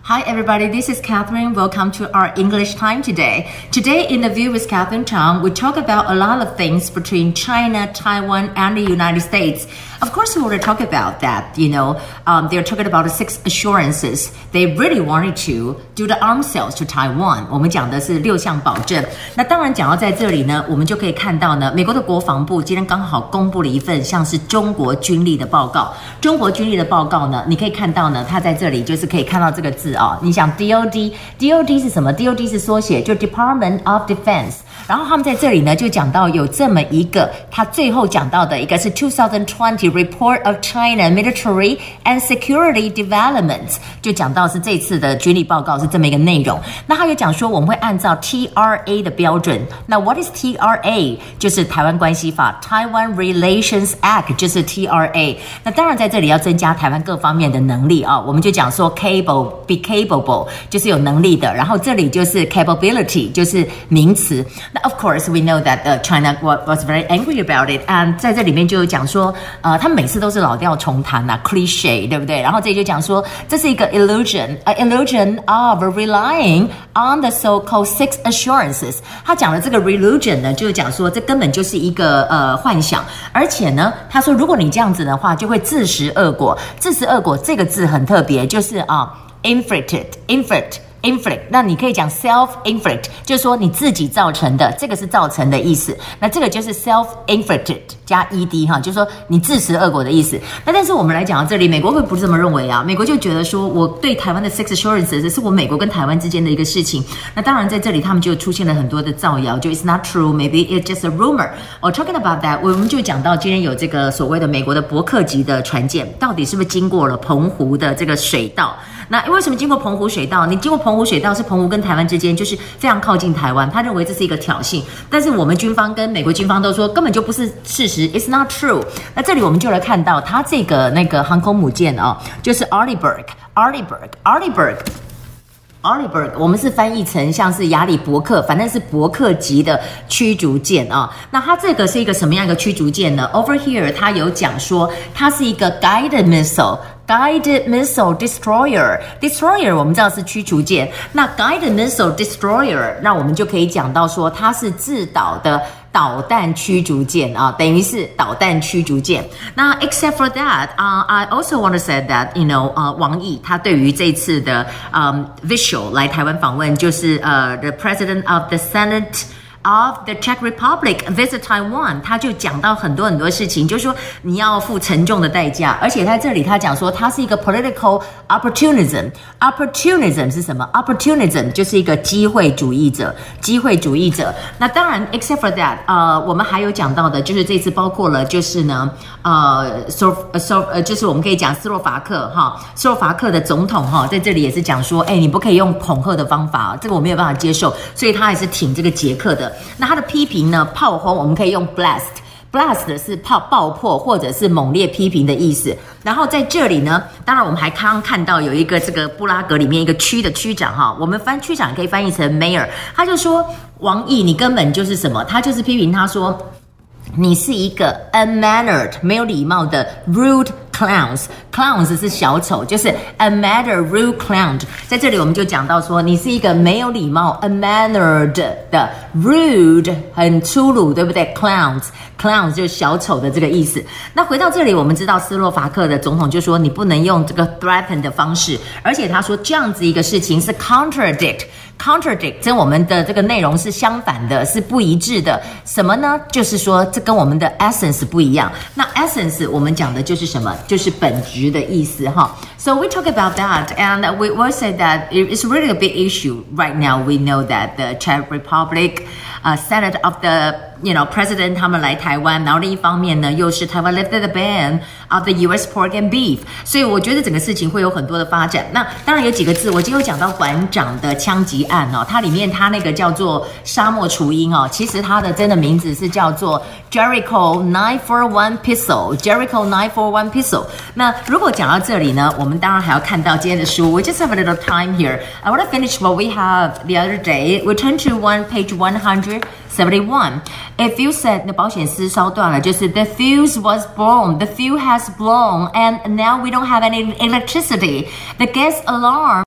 Hi everybody, this is Catherine. Welcome to our English time today. Today in the View with Catherine Chang, we talk about a lot of things between China, Taiwan, and the United States. Of course, we want to talk about that. They're talking about the 6 assurances. They really wanted to do the arms sales to Taiwan. 我们讲的是6项保证。那当然讲到在这里呢，我们就可以看到呢，美国的国防部今天刚好公布了一份像是中国军力的报告。中国军力的报告呢，你可以看到呢，它在这里就是可以看到这个字啊。你想 DOD 是什么 ？DOD 是缩写，就 Department of Defense。然后他们在这里呢，就讲到有这么一个，他最后讲到的一个是2020 Report of China Military and Security Developments， 就讲到是这次的军力报告是这么一个内容。那他有讲说我们会按照 TRA 的标准。那 What is TRA？ 就是台湾关系法 Taiwan Relations Act， 就是 TRA。那当然在这里要增加台湾各方面的能力啊，我们就讲说 be capable， 就是有能力的。然后这里就是 capability， 就是名词。那 Of course we know that China was very angry about it， and 在这里面就有讲说，他们每次都是老调重弹啊 ，cliche， 对不对？然后这里就讲说，这是一个 illusion of relying on the so-called 6 assurances。他讲的这个 illusion 呢，就是讲说这根本就是一个幻想，而且呢，他说如果你这样子的话，就会自食恶果。自食恶果这个字很特别，就是inflict， 那你可以讲 self-inflict， 就是说你自己造成的，这个是造成的意思。那这个就是 self-inflicted 加 ed 哈，就是说你自食恶果的意思。那但是我们来讲到这里，美国会不是这么认为啊？美国就觉得说，我对台湾的 6 assurances 是我美国跟台湾之间的一个事情。那当然在这里他们就出现了很多的造谣，就 it's not true, maybe it's just a rumor. Talking about that， 我们就讲到今天有这个所谓的美国的伯克级的船舰，到底是不是经过了澎湖的这个水道？那为什么经过澎湖水道？你经过澎湖水道是澎湖跟台湾之间，就是非常靠近台湾，他认为这是一个挑衅。但是我们军方跟美国军方都说根本就不是事实 ，it's not true。那这里我们就来看到它这个那个航空母舰啊，就是 Arleigh Burke， 我们是翻译成像是亚里伯克，反正是伯克级的驱逐舰啊。那它这个是一个什么样一个驱逐舰呢 ？Over here， 它有讲说它是一个 guided missile destroyer 我们知道是驱逐舰，那 guided missile destroyer， 那我们就可以讲到说它是自导的导弹驱逐舰啊，等于是导弹驱逐舰。那 except for that， I also want to say that王毅他对于这次的visual 来台湾访问，就是the president of the Senate。Of the Czech Republic visit Taiwan， 他就讲到很多事情，就是说你要付沉重的代价，而且在这里他讲说它是一个 political opportunism 是什么 ？opportunism 就是一个机会主义者。那当然 ，except for that， 我们还有讲到的，就是这次包括了就是呢，就是我们可以讲斯洛伐克的总统哈，在这里也是讲说，你不可以用恐吓的方法，这个我没有办法接受，所以他还是挺这个捷克的。那他的批评呢？炮轰我们可以用 blast 是爆破或者是猛烈批评的意思。然后在这里呢，当然我们还刚刚看到有一个这个布拉格里面一个区的区长哈，我们翻区长也可以翻译成 mayor， 他就说王毅你根本就是什么？他就是批评他说你是一个 unmannered 没有礼貌的 rude clowns 是小丑，就是 unmannered rude clown。在这里我们就讲到说，你是一个没有礼貌 unmannered 的 rude 很粗鲁，对不对 ？clowns 就是小丑的这个意思。那回到这里，我们知道斯洛伐克的总统就说，你不能用这个 threaten 的方式，而且他说这样子一个事情是 contradict，跟我们的这个内容是相反的，是不一致的。什么呢？就是说这跟我们的 essence 不一样。那 essence 我们讲的就是什么？就是本质的意思哈。So we talk about that, and we will say that it's really a big issue right now. We know that the Czech Republic, Senate of the President 他们来台湾，然后另一方面呢，又是台湾 lifted the ban of the U.S. pork and beef， 所以我觉得整个事情会有很多的发展。那当然有几个字，我今天有讲到馆长的枪击案哦，它里面它那个叫做沙漠雏鹰哦，其实它的真的名字是叫做 Jericho 941 Pistol。Jericho 941 Pistol。那如果讲到这里呢，我们当然还要看到今天的书。We just have a little time here. I want to finish what we have the other day. We turn to page 171. A fuse said 那保险丝烧断了，就是 the fuse was blown. The fuse has blown, and now we don't have any electricity. The gas alarm